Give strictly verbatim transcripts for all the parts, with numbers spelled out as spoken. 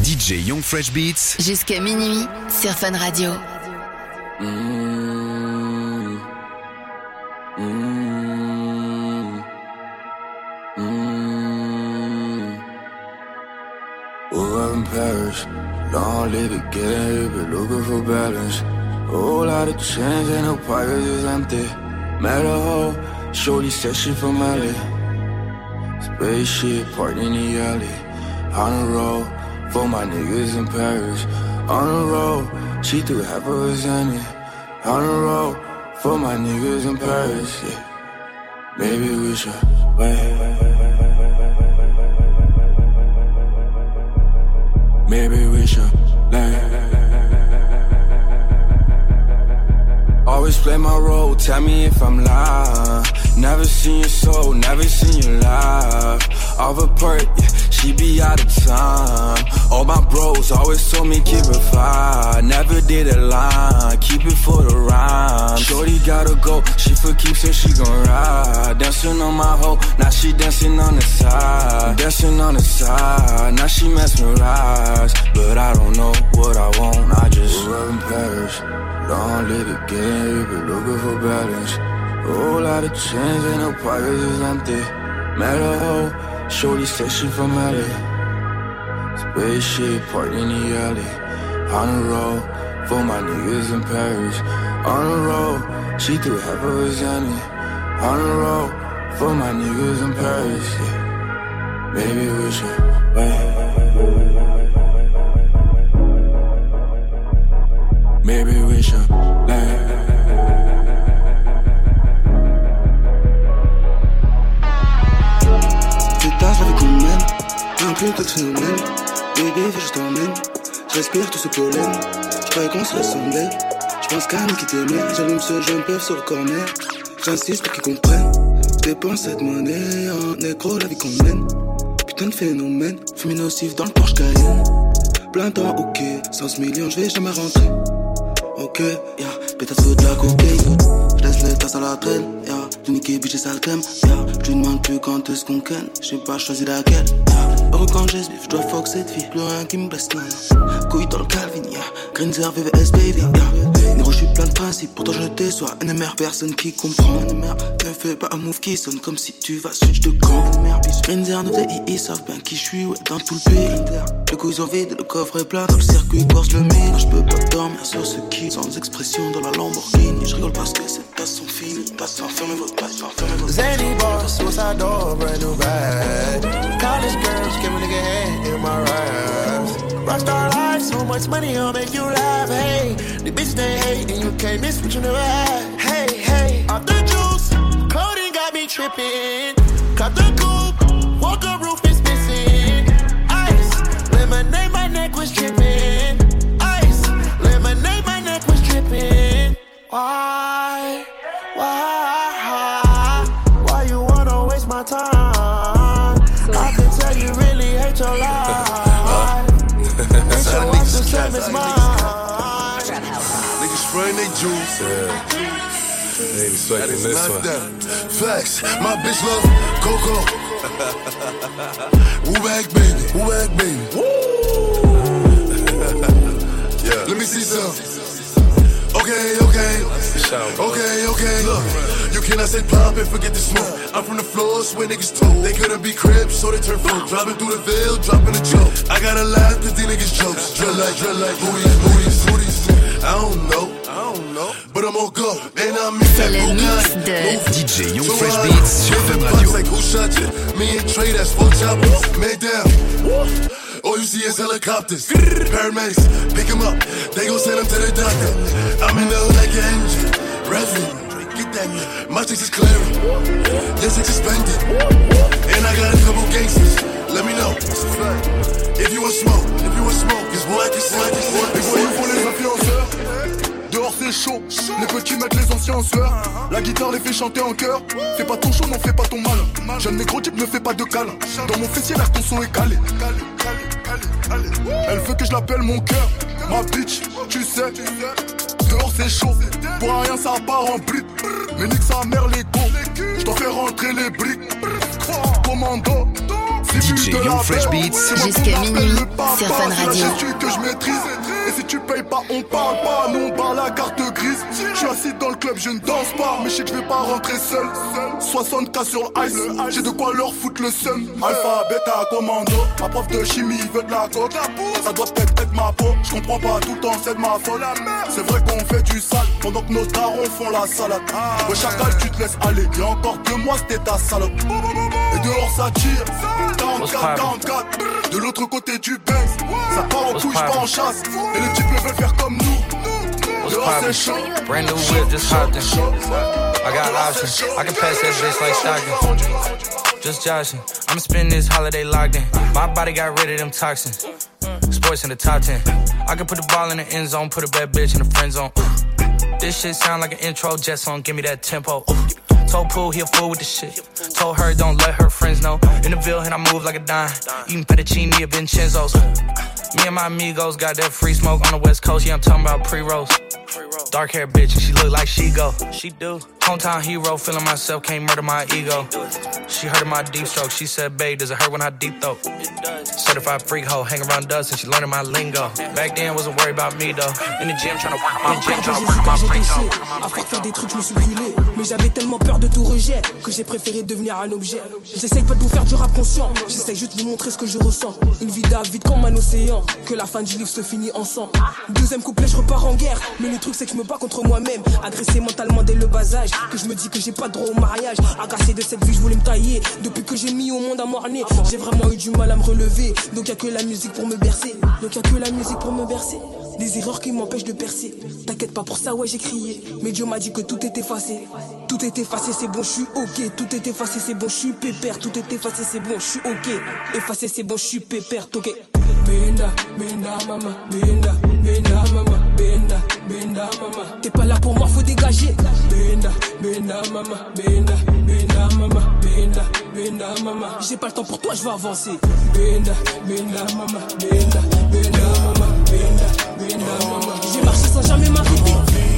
D J Young Fresh Beats. Jusqu'à minuit sur Fun Radio. Mmh. Mmh. Mmh. We're in Paris, don't live it, get here, but looking for balance. Whole lot of change, ain't no pockets is empty. Met a hoe, shorty said she from L A. Spaceship parked in the alley. On the road, for my niggas in Paris. On the road, she threw half of her Zanny. On the road, for my niggas in Paris, yeah. Maybe we should wait. Maybe we should land. Always play my role, tell me if I'm lying. Never seen your soul, never seen you live. Off a perk, yeah, she be out of time. All my bros always told me keep it fly. Never did a line, keep it for the rhyme. Shorty gotta go, she for keeps so she gon' ride. Dancing on my hoe, now she dancing on the side. Dancing on the side, now she mesmerized. But I don't know what I want, I just grew up in Paris. Don't let it get in here, but looking for balance. Whole lot of change, ain't no pockets is empty. Met a hoe, shorty said she from L A. Spaceship parked in the alley. On the road, for my niggas in Paris. On the road, she threw half of her Zanny. On the road, for my niggas in Paris, yeah. Maybe we should wait. Maybe we should land. Putain, j'avais qu'on mène, un plutôt de phénomène. Baby, faut que je t'emmène. J'respire tout ce pollen. J'croyais qu'on se ressemblait. J'pense qu'à nous qui t'aimait. J'allume ce jeune peuf sur le corner. J'insiste pour qu'ils comprennent. Dépense cette monnaie en négro, la vie qu'on mène. Putain de phénomène. Fumée nocif dans le Porsche Cayenne. Plein temps, ok. cent millions, j'vais jamais rentrer. Ok, yeah, pétasse de la cocaïne. J'laisse les tasses à la traîne, yeah. J'ai niqué, bitch, j'ai sale crème, yeah. J'lui demande plus quand est-ce qu'on ken. J'sais pas choisi laquelle, yeah. Heureux quand j'ai ce bif, j'dois fuck cette fille. Plus rien qui me blesse, non. Couille dans le Calvin, yeah. Greenzer, V V S, baby, yeah. Négro, j'suis plein de principes, pourtant je déçois. N M R, personne qui comprend. N M R, ne fais pas un move qui sonne comme si tu vas switch de camp. N M R, bitch. Greenzer, nos D I, ils savent bien qui j'suis, ouais, dans tout le pays. Le couille sont vides, le coffre est plein. Dans le circuit, course le mine. J'peux pas dormir sur ce qui, sans expression dans la Lamborghini. J'rigole parce que ces tasses sont finies. Tasses, fermez votre tasse, fermez votre tasse. Zany boss, suicide door, brand new bag. College girls, give a nigga head in my raps. Rockstar life, so much money, I'll make you laugh. Hey, the bitch they hate, and you can't miss what you never had. Hey, hey, off the juice, clothing got me tripping. Cut the coupe, walker roof is missing. Ice, lemonade, my neck was dripping. Ice, lemonade, my neck was dripping. Why, why, why you wanna waste my time? I can tell you really hate your life. Hate your wife the same as mine. Niggas spraying they juice. Yeah. They ain't swiping this one. Facts, my bitch love Coco. Woo back baby, woo back baby. Woo. Yeah. Let me see some. Okay, okay, okay, okay. Look, you cannot say pop and forget the smoke. I'm from the floors where niggas told they couldn't be cribs, so they turn folk. Driving through the veil, dropping a joke. I gotta laugh cause these niggas jokes. Drill like, drill like, booties, booties, booties. I don't know, I don't know, but I'm on go. And I'm in C'est that le mix de D J Young Fresh Beats sur Fun Radio. Like who shot you? Me and Trey, that's four choppers. Man down. All you see is helicopters. Paramedics, pick him up. They gon' send him to the doctor. I'm in the hood like an engine. Revving. Get that nigga. My chicks is clearing. Your chicks is spending. And I got a couple gangsters. Let me know. If you want smoke, if you want smoke, this boy I can smoke. Les voyous font les influenceurs. Dehors c'est chaud. Les petits mettent les anciens en sueur. La guitare les fait chanter en chœur. Fais pas ton show, non fais pas ton malin. Jeune négro type ne fais pas de câlin. Dans mon fessier là ton son est calé. Elle veut que je l'appelle mon cœur. Ma bitch, tu sais. Dehors c'est chaud. Pour rien ça part en bride. Mais nique sa mère les go. J'dois faire rentrer les briques. Commando. début D J de la Young Fresh paix. Beats. C'est moi Jusqu'à qu'on m'appelle minuit le papa, sur Fun c'est la Radio. gestu que je maîtrise. Et si tu payes pas, on parle pas, nous on parle la carte grise. Je suis assis dans le club, je ne danse pas, mais je sais que je vais pas rentrer seul. soixante K sur l'ice, j'ai de quoi leur foutre le seum. Alpha, bêta, commando, ma prof de chimie veut de la coke. Ça doit peut-être être ma peau, je comprends pas tout le temps, c'est de ma faute. C'est vrai qu'on fait du sale, pendant que nos darons font la salade. Ouais, chacal, tu te laisses aller, et encore deux mois c'était ta salope. Et dehors ça tire, quarante-quatre, quarante-quatre. De l'autre côté du Benz, ça part en couche, pas en chasse. Et les types veulent faire comme nous. Dehors c'est chaud. Brand new whip, just hopped in. I got options, I can pass that bitch like Stockton. Just joshing, I'ma spend this holiday locked in. My body got rid of them toxins. Sports in the top ten. I can put the ball in the end zone, put a bad bitch in the friend zone. This shit sound like an intro jet song, give me that tempo. Told Pooh he a fool with the shit. Told her don't let her friends know. In the Ville and I move like a dime. Eating fettuccine at Vincenzo's. Me and my amigos got that free smoke on the West Coast. Yeah, I'm talking about pre-rolls. Dark hair bitch and she look like she go. She do. Hometown hero, feeling myself, can't murder my ego. She heard of my deep stroke. She said, babe, does it hurt when I deep throat? Certified freak hoe, hang around dust and she learning my lingo. Back then, wasn't worried about me though. In the gym, trying to work on my gym, trying to work on my freak hoe. À force de faire des trucs, je me suis brûlé. Mais j'avais tellement peur de tout rejet que j'ai préféré devenir un objet. J'essaye pas de vous faire du rap conscient. J'essaye juste de vous montrer ce que je ressens. Une vie vide comme un océan. Que la fin du livre se finit ensemble. Deuxième couplet, je repars en guerre. Mais le truc, c'est que je me bats contre moi-même. Agressé mentalement dès le bas âge. Que je me dis que j'ai pas droit au mariage. Agacé de cette vie, je voulais me tailler. Depuis que j'ai mis au monde à morner, j'ai vraiment eu du mal à me relever. Donc y'a que la musique pour me bercer. Donc y'a que la musique pour me bercer. Des erreurs qui m'empêchent de percer. T'inquiète pas pour ça, ouais j'ai crié. Mais Dieu m'a dit que tout est effacé. Tout est effacé, c'est bon, je suis ok. Tout est effacé, c'est bon, je suis pépère. Tout est effacé, c'est bon, je suis ok. Effacé, c'est bon, je suis pépère, ok. Benda, benda, mama, benda, benda, mama, benda, benda, mama. T'es pas là pour moi, faut dégager. Benda, benda, mama, benda, benda, mama, benda, benda, mama. J'ai pas le temps pour toi, je vais avancer. Benda, benda, mama, benda, benda, mama, benda, benda, mama. J'ai marché sans jamais m'arrêter.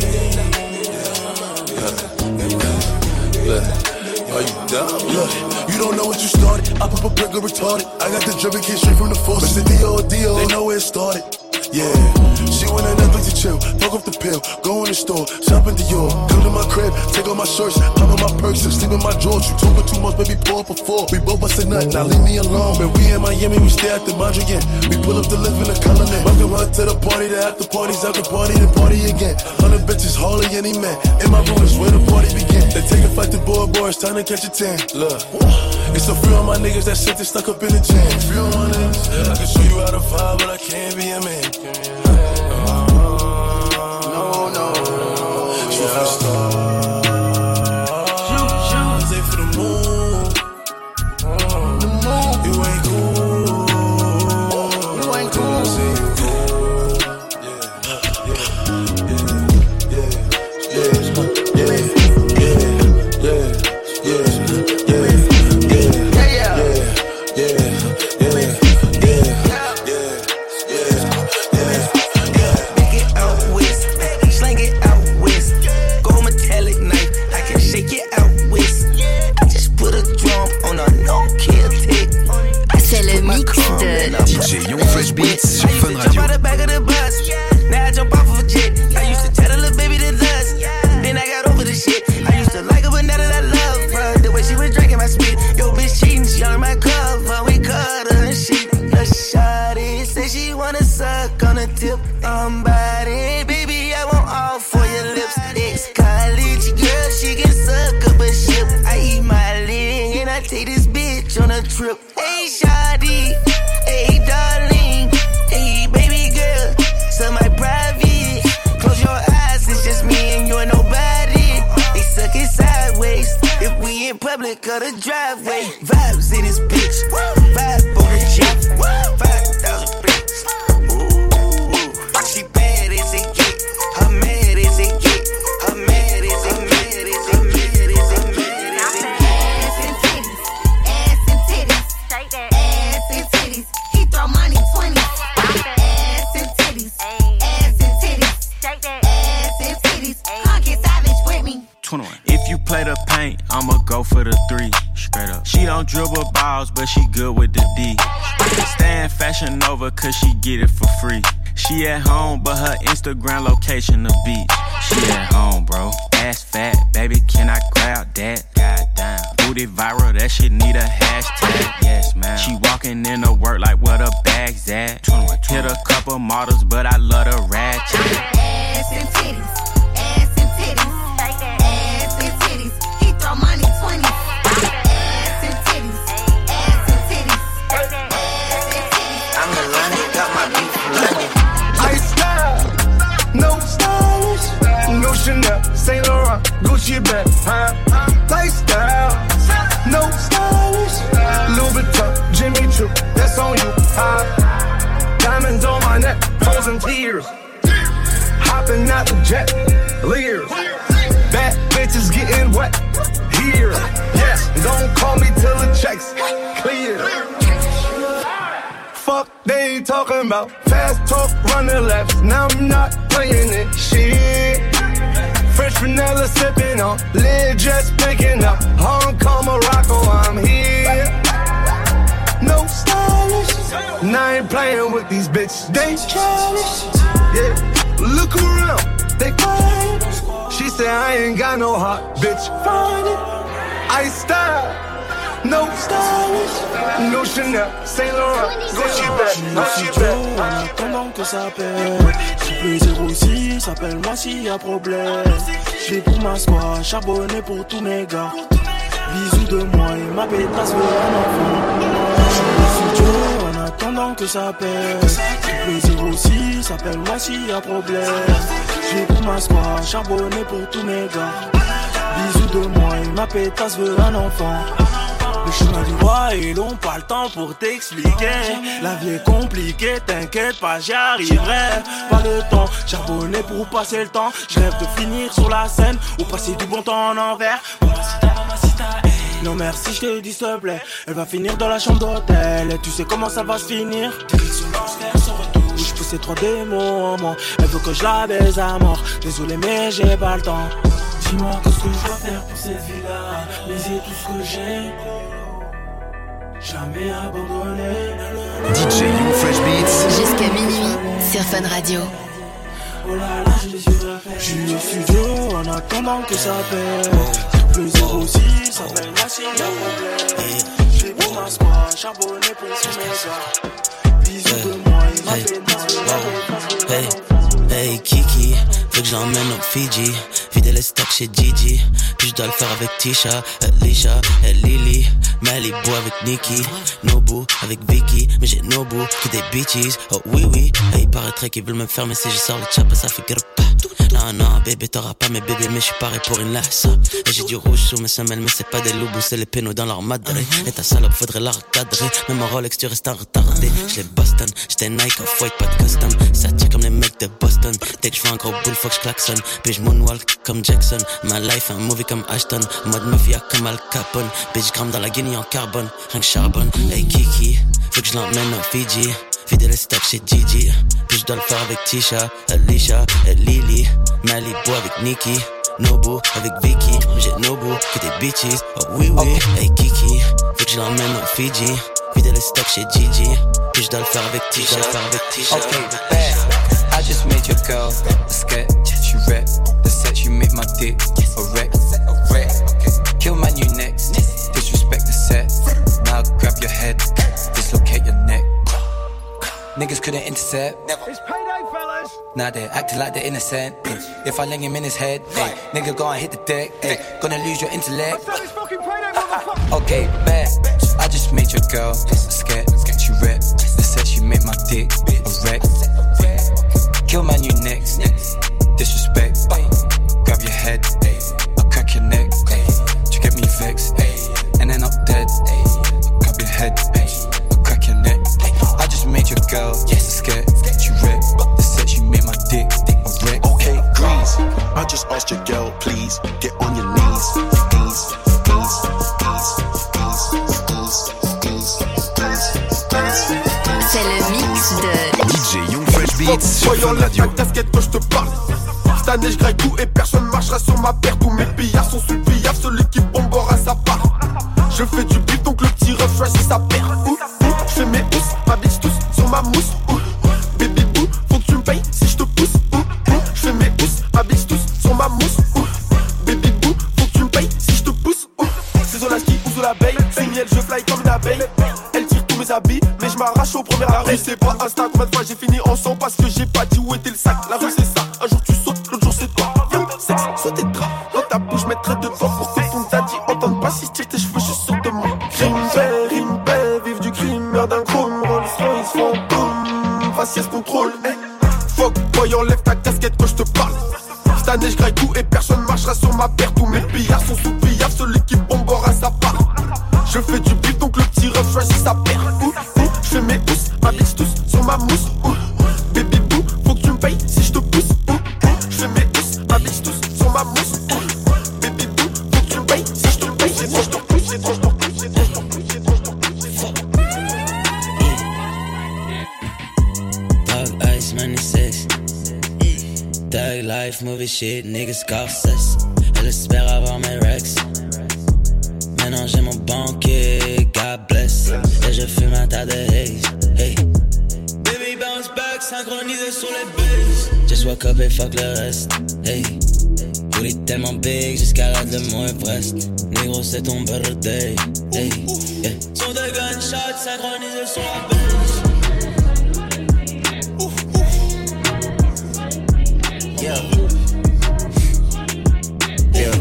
Are you down? Look, you don't know what you started. I pop a burger retarded. I got the German kid straight from the force. But it's Dio, Dio, they know where it started. Yeah, she want a Netflix to chill. Fuck off the pill, go in the store, shop in Dior. Come to my crib, take off my shirts, pop on my perks, and sleep in my drawers. You talking too much, baby, pour up a four. We both bustin' nut, now leave me alone. When we in Miami, we stay at the Mondrian. We pull up to live in the colony. Welcome her to the party, the after parties, after party, the party again. Hundred bitches, hardly any man. In my room is where the party begin. They take a flight to Bora Bora, it's time to catch a tan. Look, it's a few of my niggas that shit, they stuck up in the jam. Few of my niggas, I can show you how to vibe, but I can't be a man. No, no, shoot for the stars, shoot for the moon. The moon, you ain't cool. You ain't cool. I say you cool. Yeah, yeah, yeah, yeah, yeah, yeah, yeah, yeah, yeah, yeah, yeah, yeah, yeah. D J Young Fresh Beats sur Fun Radio. Now I jump off of a jet. I used to tell the little baby to lust. Then I got over the shit. I used to like her, but now that I love her, the way she was drinking my spit. Yo, bitch cheating, she on my cover. We cut her and shit. The shawty say she wanna suck on the tip. I'm body, baby, I want all for your lips. Ex-college girl, she can suck up a ship. I eat my leg and I take this bitch on a trip. Hey, shawty. Hey, darling, hey, baby girl, so my private. Close your eyes, it's just me and you and nobody. They suck it sideways. If we in public or the driveway, vibes in this bitch. Vibe on the jet, five thousand bricks. Ooh, she bad as it get, her mad as it get, her mad as it, mad as it, mad as it, mad as it. Ass and titties, ass and titties, shake that ass and titties. He throw money twenty. Ass and titties, ass and titties, shake that ass and titties. Come get savage with me. twenty-one. If you play the paint, I'ma go for the three. Straight up. She don't don't dribble balls, but she good with the D. Staying Fashion Nova cause she get it for free. She at home, but her Instagram location the beach. She at home, bro. Ass fat, baby, can I grab that? Goddamn. Booty viral, that shit need a hashtag. Yes, man. She walking in to work like where the bag's at. Hit a couple models, but I love the ratchet. Ass and titties, ass and titties, ass and titties. He throw money twenty. Ass and titties, ass and titties, ass and titties. I'm in London, got my beat from London. Ice style, no stylish, no Chanel, Saint Laurent, Gucci bag, huh? Lifestyle, no stylish, Louis Vuitton, Jimmy Choo, that's on you, huh? Diamonds on my neck, frozen tears, hopping out the jet, Lears, bad bitches getting wet, here, yes, don't call me till the checks clear. Fuck they ain't talking about, fast talk, running laps, now I'm not playing it, shit. Fresh vanilla sipping on, lid just picking up, Hong Kong, Morocco, I'm here. No stylish, now I ain't playing with these bitches, they childish. Yeah, look around, they quiet. She said I ain't got no heart, bitch, find it. I style. No stylish, no Chanel, Saint Laurent, Gucci bag, Gucci bag. En attendant que ça pète, j'ai plaisir aussi, s'appelle-moi s'il y a problème. J'vais pour ma squad, charbonné pour tous mes gars. Bisous de moi et ma pétasse veut un enfant. J'suis studio en attendant que ça pète. J'ai plaisir aussi, s'appelle-moi s'il y a problème. J'vais pour ma squad, charbonné pour tous mes gars. Bisous de moi et ma pétasse veut un enfant. Le chemin du roi est long, pas le temps pour t'expliquer. La vie est compliquée, t'inquiète pas, j'y arriverai. Pas le temps, charbonné pour passer le temps. Je rêve de finir sur la scène ou passer du bon temps en envers. Mamacita, mamacita, hey. Non merci, je te dis s'il te plaît. Elle va finir dans la chambre d'hôtel. Et tu sais comment ça va se finir. Direction l'enfer, son retour. Je pousse ces trois démons en moi. Elle veut que je la baise à mort. Désolé mais j'ai pas le temps. Dis-moi qu'est-ce que je dois faire pour cette vie-là. Baiser tout ce que j'ai. Jamais abandonné. D J You Fresh Beats. Jusqu'à minuit sur Fun Radio. Oh là là, j'ai les yeux refaits. J'suis au studio en attendant que ça pète. Plaisir aussi, ça s'appelle moi s'il y a problème. J'ai vu ma squad, charbonné pour tous mes gars. Bisous de moi et ma pétasse. Hey, hey Kiki, faut que j'emmène au Fiji. Vider les stocks chez Gigi. Puis je dois le faire avec Tisha, Alicia, et Lily. Malibu avec Nikki, Nobu avec Vicky. Mais j'ai Nobu que des bitches. Oh oui oui, et il paraîtrait qu'ils veulent me faire, mais si je sors le chapa ça fait pas. Non non bébé t'auras pas mes bébés, mais je suis paré pour une laisse. Et j'ai du rouge sous mes semelles, mais c'est pas des loups, c'est les pénaux dans leur madré. Et ta salope faudrait la recadrer. Même en Rolex tu restes en retardé. J'l'ai Boston, j'étais Nike off white, pas de custom. Ça tire comme les mecs de Boston. Dès que je vois un gros bull faut que je klaxonne. Puis je moonwalk comme Jackson. Ma life un movie comme Ashton. Mode mafia comme Al Capone. Bitch gramme dans la Guinée en carbone. Rien que charbonne. Hey Kiki, faut que je l'emmène au Fiji. Vider les stocks chez Gigi. Puis je dois le faire avec Tisha, Alicia et Lily. Malibu avec Nikki, Nobu avec Vicky. Mais j'ai Nobu que des bitches. Oh oui oui, hey Kiki, faut que je l'emmène au Fiji. Vider les stocks chez Gigi. Puis je dois le faire avec Tisha, faire avec Tisha. Okay, bad. I just made your girl a sketch. She rap the set, you make my dick a wreck. Kill my new next. Disrespect the set. Now grab your head, dislocate your neck. Niggas couldn't intercept. It's payday, fellas. Now they're acting like they're innocent. If I ling him in his head, ay, nigga go and hit the deck. Ay, gonna lose your intellect. It's fucking payday, motherfucker. Okay, bad. I just made your girl a scared. She rap. They said she made my dick a wreck. Kill my new next. Disrespect. Grab your head. I'll crack your neck. You get me vexed. And then I'm dead. Grab your head. I'll crack your neck. I just made your girl scared. She rap. They said she made my dick a wreck. Okay, grease. I just asked your girl, please get on your knees. Knees, knees, knees, knees, knees, knees. C'est le mix de D J Young Fresh Beats sur Fun Radio. Casquette que je te parle. Cette année je graille tout et personne marchera sur ma paire. Tous mes pillards sont sous le billard. Celui qui bombera sa part. Je fais du beat donc le petit choisit sa paire. J'fais mes housses, ma bitch tous sur ma mousse. Baby boo, faut que tu me payes si je te pousse. J'fais mes housses, ma bitch tous sur ma mousse. Baby boo, faut que tu me payes si je te pousse. C'est Zolaski ou Zolabeille, c'est miel, je fly comme une abeille. Elle tire tous mes habits, mais je m'arrache au premier arrêt. La rue c'est pas Insta, combien de fois j'ai fini en sang parce que j'ai pas dit où était le sac. La rue c'est ça, un jour tu sautes, l'autre jour c'est toi. Viens, sexe, sauter de gras, dans ta bouche, mettrai de temps pour que ton daddy entende pas si je tire tes cheveux, je suis sûr de moi. Crime belle, rime belle, vive du crime, meurt d'un chrome, Rolls Royce, fantôme, faciès contrôle, hey. Fuck boy, enlève ta casquette quand je te parle. Cette année je graille tout et personne marchera sur ma paire. Tous mes pillards sont sous pillard, celui qui bombe aura sa part. Je fais du bif donc le petit ref choisit sa paire. Je fais mes housses, ma bitch tous sur ma mousse. Baby boo, faut que tu me payes si je te pousse. Je fais mes housses, ma bitch tous sur ma mousse. Baby boo, faut que tu me payes si je te pousse. C'est trop, je te pousse, c'est trop, je te pousse, c'est trop, je te pousse, c'est trop, je te pousse. Dog ice, ninety-six. Thug life, movie shit, niggas Scorsese. Elle espère avoir mes rex. Maintenant j'ai mon banquier, God bless. Et je fume un tas de haze, hey. Baby bounce back, synchronisé sur les bases. Just walk up et fuck le reste, hey. Booty tellement big, j'escalade le Mont Everest. Négro c'est ton birthday, hey, yeah. Son de gunshots, synchronisé sur la base. Yeah. Yeah.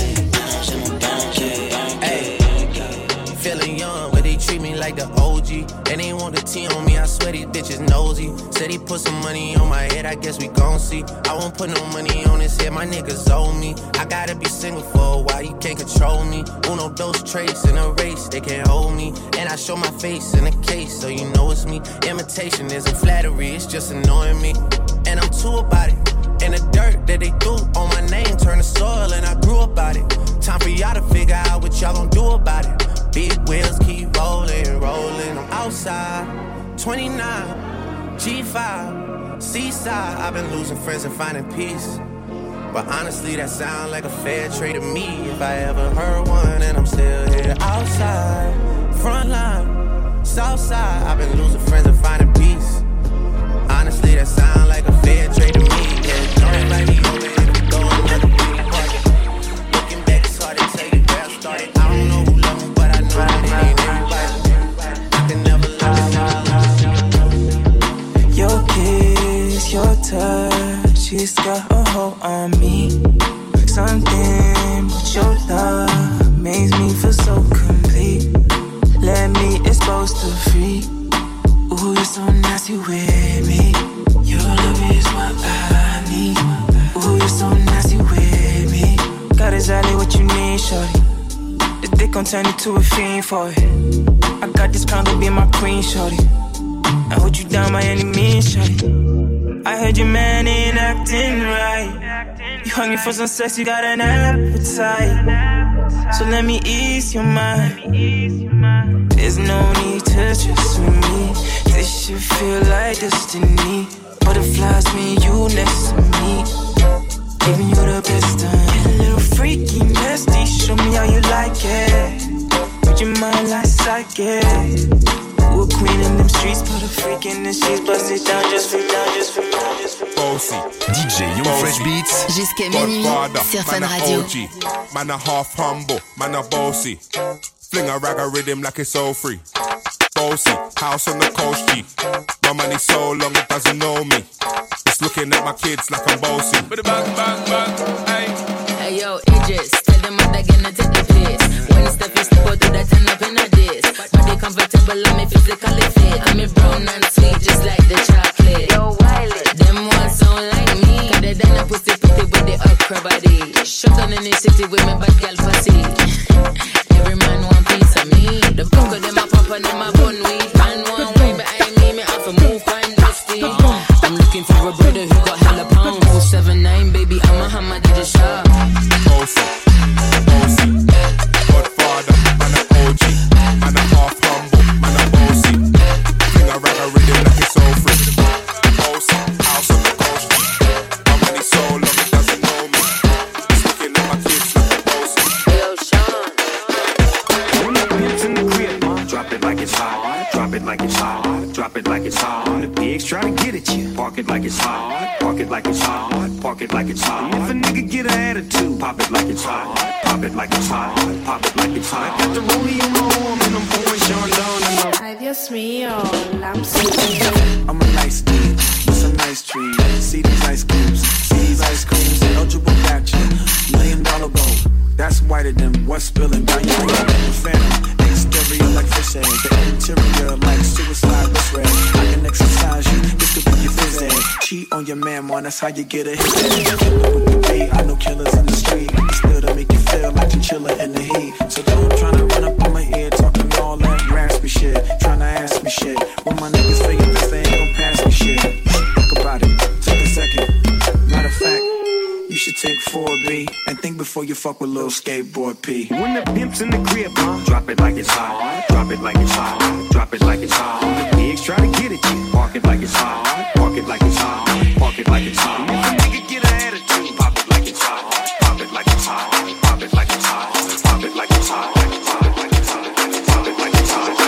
Hey. Feeling young, but they treat me like the O G. And they want the T on me, I swear these bitches nosy. Said he put some money on my head, I guess we gon' see. I won't put no money on his head, my niggas owe me. I gotta be single for a while, you can't control me. Uno, those traits in a race, they can't hold me. And I show my face in a case, so you know it's me. Imitation isn't flattery, it's just annoying me. And I'm too about it. And the dirt that they threw on my name turned to soil and I grew about it. Time for y'all to figure out what y'all gon' do about it. Big wheels keep rolling, rolling. I'm outside, twenty-nine, G five, Seaside. I've been losing friends and finding peace. But honestly, that sound like a fair trade to me. If I ever heard one, and I'm still here outside, front line, south side. I've been losing friends and finding peace. Honestly, that sound like a fair trade to me. Yeah, don't invite me over if we go another pretty party. Looking back, it's hard to tell you where I started. I don't know who love me, but I know that it ain't everybody. I can never love you. Your kiss, your touch, she's got a hold on me. Something with your love makes me feel so complete. Let me expose the freak. Ooh, you're so nasty with me. Your love is what I need. Ooh, you're so nasty with me. Got exactly what you need, shorty. This dick gon' turn you to a fiend for it. I got this pound to be my queen, shorty. I hold you down by any means, shorty. I heard your man ain't acting right. You hungry for some sex, you got an appetite. So let me ease your mind. There's no need to trust me. This should feel like destiny. Butterflies, me and you next to me. Giving you the best time. Get a little freaky, nasty. Show me how you like it. Put your mind like psychic. We're queen in them streets, put a freak in the sheets. Bust it down just for now, just for now, just for now. D J Young Fresh Beats. Jusqu'à minuit sur Fun Radio. Man a half humble, man a bossy. Fling a rag a rhythm like it's all free. Bossy, house on the coast G. My money so long it doesn't know me. It's looking at my kids like I'm bossy. Bang, bang, bang, hey. Hey yo, Idris, tell them what they're gonna take the place. When it's the first to do that, turn up in a dish. Body comfortable, I'm physically fit. I'm a brown and sweet, just like the chocolate. Yo, Wiley, them ones sound like me. Cause they done a pussy pretty with the okra body. Shut down in the city with me bad girl fussy. Every man want piece of me. The fuck of them a pop and them a bun weed. Man want way behind me, me have to move kind dusty. I'm looking for a brother who got hella pound. oh seven nine, baby, I'm a hammer, did a shot. Bossy, bossy, Godfather, man a O G. Man a half humble, man a bossy. Fling a rag a rhythm like it's all free. Bossy, house on the coast G. My money so long it doesn't know me. It's looking at my kids like a bossy. Yo, Sean. It's in the crib, drop it pigs try to get at you. Park it like it's hot, park it like it's hot, park it like it's hot. If a nigga get an attitude, pop it like it's hot, pop it like it's hot, pop it like it's hot. Got the rollie on my arm and I'm pouring Sean down and I'm Ay, Dios mío, I'm so I'm a nice dude with some nice trees. See these ice cubes, see these ice creams. Eligible gotcha, million dollar gold. That's whiter than what's spilling down your road. The phantom, exterior like fish egg. The interior like suicide wrist red. I can exercise you, this could be your phys ed. Cheat on your man, man, that's how you get a hit. I know killers in the street, still to make you feel like you chillin' in the heat. So don't tryna run up on my ear, talking all that raspy shit, tryna ask me shit. When my niggas figure this, they ain't gon' pass me shit. Think about it, take a second. Matter of fact, you should take four B and think before you fuck with little skateboard P. When the pimp's in the crib, huh? Drop it like it's hot, drop it like it's hot, drop it like it's hot. The pigs try to get at you. Park it like it's hot, park it like it's hot, park it like it's hot. If a nigga get an attitude, pop it like it's hot, pop it like it's hot, pop it like it's hot, pop it like it's hot, pop it like it's hot, pop it like it's hot, pop it like it's hot.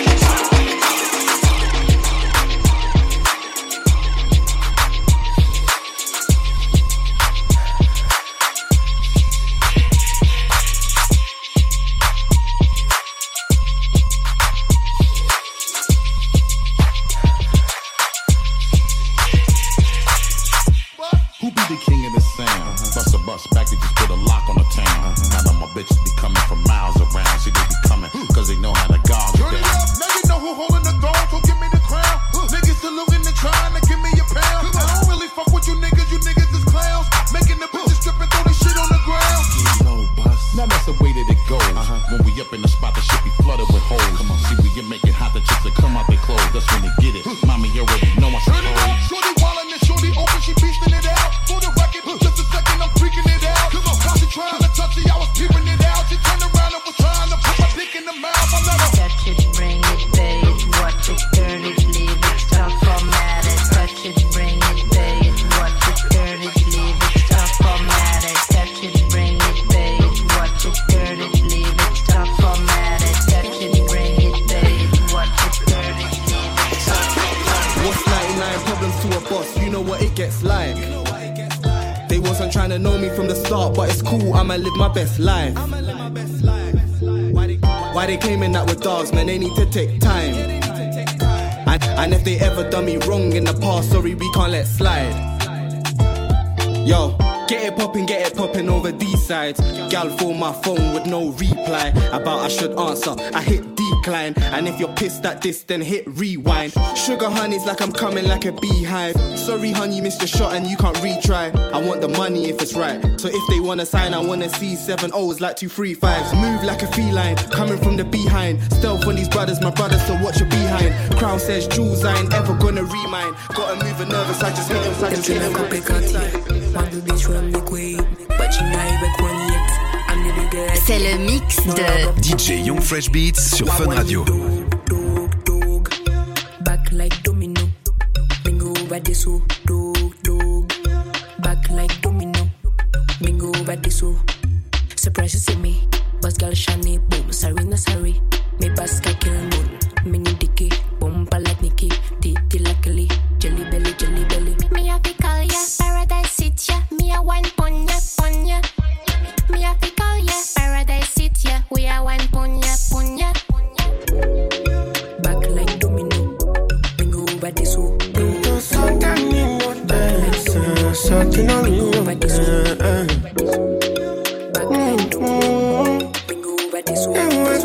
Bitches be coming from miles around. See, they be coming, cause they know how to guard you. Turn it up, now you know who holding the throne, so give me the crown. Niggas saluting and trying to give me a pound. I don't really fuck with you niggas, you niggas is clowns. Making the bitches strip and throw this shit on the ground. Low bust. Now that's the way that it goes. Uh-huh. When we up in the spot, the shit be flooded with holes. Come on, see, we can make it hot, the chicks that come out they clothes. That's when they get it. Mommy, you already know I Turn it up, shorty wildin' and shorty open, she beastin' it out. For the record, just a second, I'm freaking it out. Come on, cause she trying to touch it, I was peeping it out. She turned around and was trying to put my dick in the mouth. I let her touch it, bring it, babe. Watch it, turn it, leave it, stop, format it. Touch it, bring it, babe. Watch it, turn it, leave it, stop, format it. Touch it, bring it, babe. Watch it, turn it, leave it, stop, format it. Touch it, bring it, babe. Watch it, turn it, leave it, stop, format it. What's ninety-nine problems to a boss? You know what it gets like. They wasn't trying to know me from the start, but it's cool, I'ma live my best life. Why they claiming that we're dogs, man, they need to take time. And, and if they ever done me wrong in the past, sorry, we can't let slide. Yo, get it poppin', get it poppin' over these sides. Gal phone my phone with no reply. About I should answer, I hit decline. And if you're pissed at this, then hit rewind. Sugar honey's like I'm coming like a beehive. Sorry honey, you missed your shot and you can't retry. I want the money if it's right. So if they wanna sign, I wanna see seven O's like two three fives. Move like a feline, coming from the behind. Stealth on these brothers, my brothers, so watch your behind. Crown says jewels, I ain't ever gonna remind. Gotta move a nervous, I just hit him, I just hit him. C'est le mix de D J Young Fresh Beats sur Fun Radio. Back like domino, bingo over this oh, dog, dog. Back like domino, bingo over this oh. Surprise you see me, boss girl shiny, boom, sorry na sorry. Me basket kill moon, mini dicky, bumper like Nicky, titty luckily, jelly belly, jelly belly. Me have to call ya, paradise sit ya, me a wine pon ya, pon ya. Me have to call ya, paradise sit ya, we a wine pon ya, pon ya. Back like domino, bingo over this oh. Something on me, over this oh. Back like domino, bingo over this oh.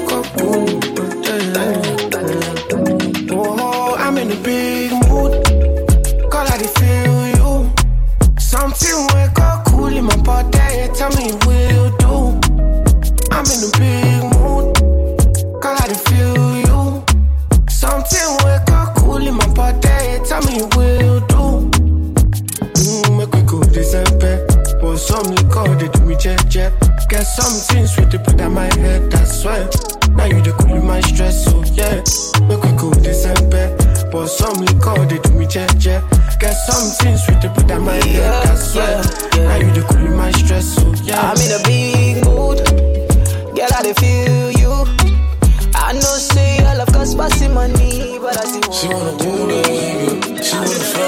Oh, I'm in a big mood. Call I feel you. Something wake up cool in my body. Tell me what you do. I'm in a big mood. Call I feel you. Something wake up cool in my body. Tell me what you do. Mm, make we go December. Pour some liquor, they do me jet jet. Get something sweet to put on my head, that's why. Now you the cool my stress, so yeah. Make we go December. Pour some liquor, they do me jet jet. Get something sweet to put on my head, that's why. Now you the cool my stress, so yeah. I'm in a big mood. Girl, I dey feel you. I know say I love cause passing money, but I see She wanna do it, she wanna fuck.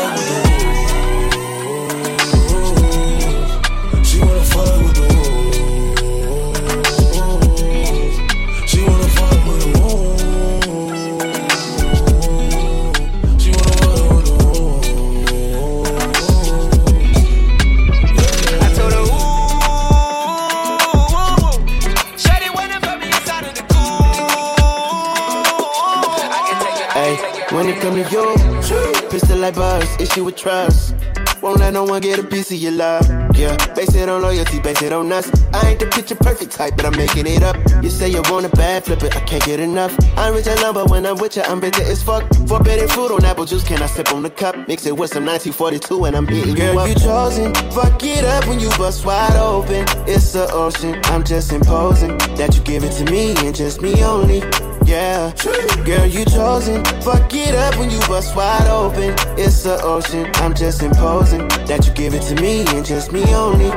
feel like buzz, issue with trust. Won't let no one get a piece of your love. Yeah, base it on loyalty, base it on us. I ain't the picture perfect type, but I'm making it up. You say you want a bad, flip it, I can't get enough. I'm rich and love, but when I'm with you, I'm bitter as fuck. Forbidden fruit on apple juice, can I sip on the cup? Mix it with some nineteen forty-two and I'm hitting Girl, you up. Girl, you chosen, fuck it up when you bust wide open. It's the ocean, I'm just imposing that you give it to me and just me only. Yeah, girl, you chosen. Fuck it up when you bust wide open. It's the ocean, I'm just imposing that you give it to me and just me only.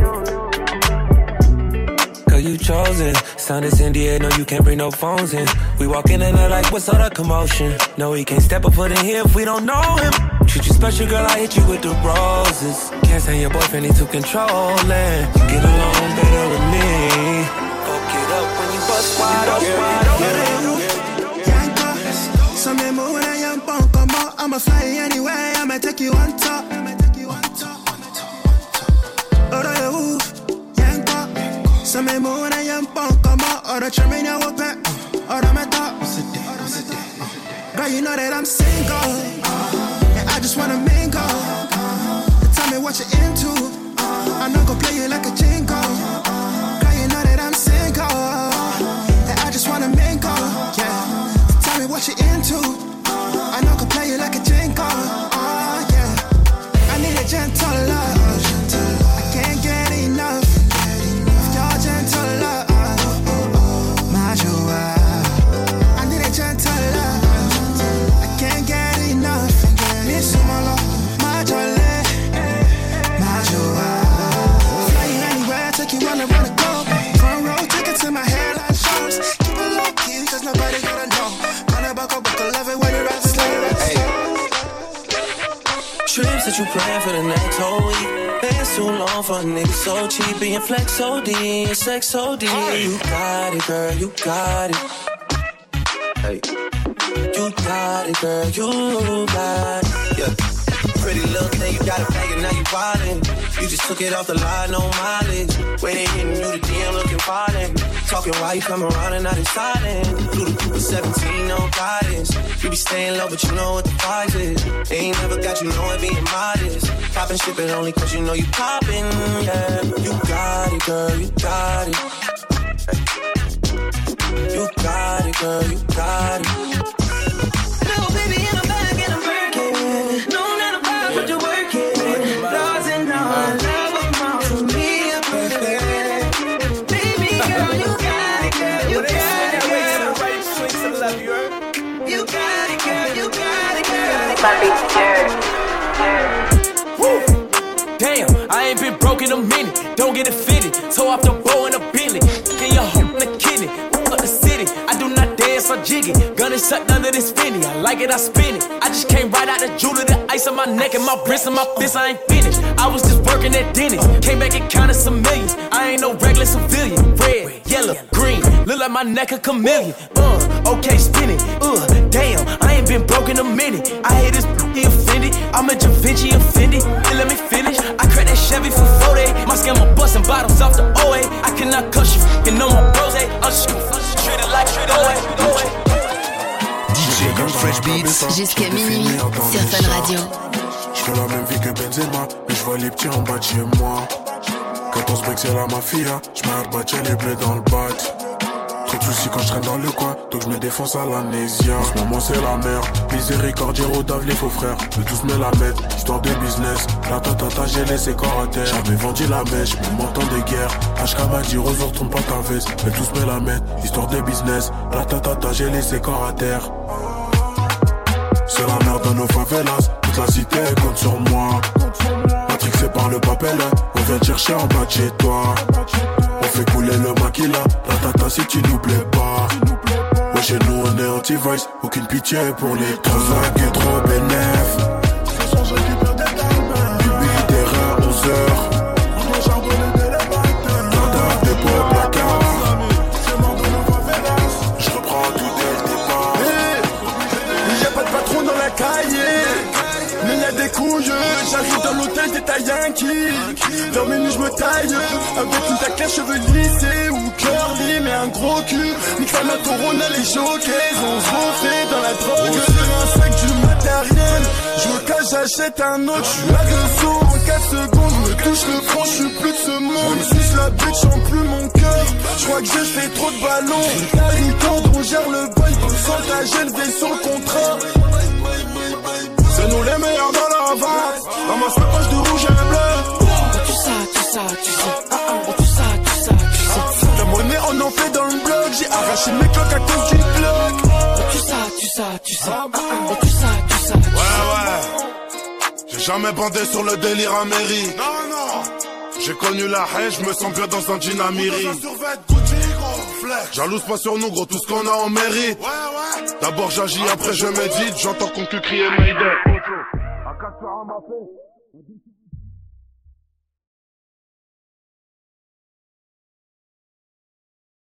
Girl, you chosen. Sound is in the air, no, you can't bring no phones in. We walk in and they're like, what's all the commotion? No, he can't step a foot in here if we don't know him. Treat you special, girl, I hit you with the roses. Can't stand your boyfriend, he too controlling. You get along better with me. Fuck it up when you bust wide open. So me move when I am punk, come out. I'ma fly anyway, I'ma take you on top. Ora you move, yanko. So me move when I am punk, come out. Ora try me now open, ora me top. Girl, you know that I'm single, and I just wanna mingle. Tell me what you're into, I'm not gonna play you like a jingle. Girl, you know that I'm single, and I just wanna mingle. Yeah. Tell me what you're into. I know I can play you like a jingle. Oh, yeah. I need a gentle love. I can't get enough of your gentle love. My joie. I need a gentle love. I can't get enough. Miss my love. My joie. My joie. Fly you anywhere, take you on around the globe. Front row tickets in my hairline shows. Keep it low key, cause nobody gonna know. Trips that you plan for the next whole week. Bands too long for a nigga so cheap. Being flex O D and sex O D. You got it, girl, you got it. Hey. You got it, girl, you got it. Yeah. Pretty little thing, you got a bag and now you wildin'. You just took it off the line, no mileage. Waiting, hitting you the D M looking violent. Talking while you come around and now they silent. Through the Cooper seventeen, no guidance. You be staying low, but you know what the price is. They ain't never got you know it being modest. Poppin' shit, but only cause you know you poppin', yeah. You got it, girl, you got it. Hey. You got it, girl, you got it. Little baby in the bag and I'm working. No, not a problem, but you're working. Laws and all, I love them all to me, a perfect. Baby girl, you got it, girl, you got it, girl. You got it, girl, you got it, girl. My bitch, Woo! Damn, I ain't been broke in a minute. Don't get it fitted. Toe off the bow in a Bentley. Get your home in the kidney. Up the city. I do not dance or jiggy. Gun is sucked under this Fendi. I like it, I spin it. I just came right out the jewelry, the ice on my neck and my wrist and my fist. I ain't finished. I was just working at Dennis. Came back and counted some millions. I ain't no regular civilian. Red, yellow, green. Look like my neck a chameleon. Uh, okay, spin it. Uh, damn, I ain't been broke in a minute. I hate this he offended. I'm a Da Vinci offended. And let me finish. I cracked that Chevy for forty. My scammer busting bottles off the O A. I cannot cuss you, you know my bros. I'm just treated like treated like. D J Young Fresh Beats jusqu'à minuit sur Fun Radio. Je fais la même vie que Benzema, mais je vois les petits en bas de chez moi. quatorze breaks c'est la mafia, je mets à battre les bleus dans le bat. Trop de soucis quand je traîne dans le coin, donc je me défonce à l'amnésia. En ce moment c'est la merde, Miséricordiero, Dave les faux frères. Eux tous me la mettent, histoire de business. La tatata j'ai laissé corps à terre. J'avais vendu la mèche, mon temps de guerre. H K m'a dit Rose retourne pas ta veste. Eux tous me la mettent, histoire de business. La tatata j'ai laissé corps à terre. C'est la merde dans nos favelas, toute la cité compte sur moi. Matrixé par le papel, on vient te chercher en bas de chez toi. On fait couler le maquila, la tata si tu nous plais pas. Ouais chez nous on est anti-vice, aucune pitié pour les trois. Trop et trop bénef. Du billet terrain à onze heures. Tata des pots placard. Je reprends tout dès le départ. Y'a pas de patron dans la cahier, mais y'a des couilles. J'arrive dans l'hôtel des Yankees. Dans mes nuits j'me taille avec une taclée, cheveux lissés ou curly, mais un gros cul. Nique la Corona, les jockeys, on se refait dans la drogue. Sur un sac du matin. matériel. Je me cache, j'achète un autre. Je suis agressif en quatre secondes. Me touche le front, je suis plus de ce monde. Je suis la bitch, en plus mon cœur. Je crois que j'ai fait trop de ballons. T'as une corde, on gère le bail. Pour s'engager, le vaisseau, le contrat. C'est nous les meilleurs dans la vente. Dans ma sacoche de rouge et bleu. Tout ça, tout ça, tu sais. Ah, ah, tout ça, tout ça, tu sais. La monnaie, on en fait dans le bloc. J'ai arraché mes cloques à cause d'une cloque. Tout ça, tout ça, tu sais. Ah, ah, tout ça, tout ça, tu sais. Ouais, ouais. J'ai jamais bandé sur le délire à mairie. Non, non. J'ai connu la haine, je me sens bien dans un dynamiri. Jalouse pas sur nous, gros, tout ce qu'on a on mérite. Ouais, ouais. D'abord j'agis, après je médite. J'entends qu'on cul crier Mayday. À quatre faire un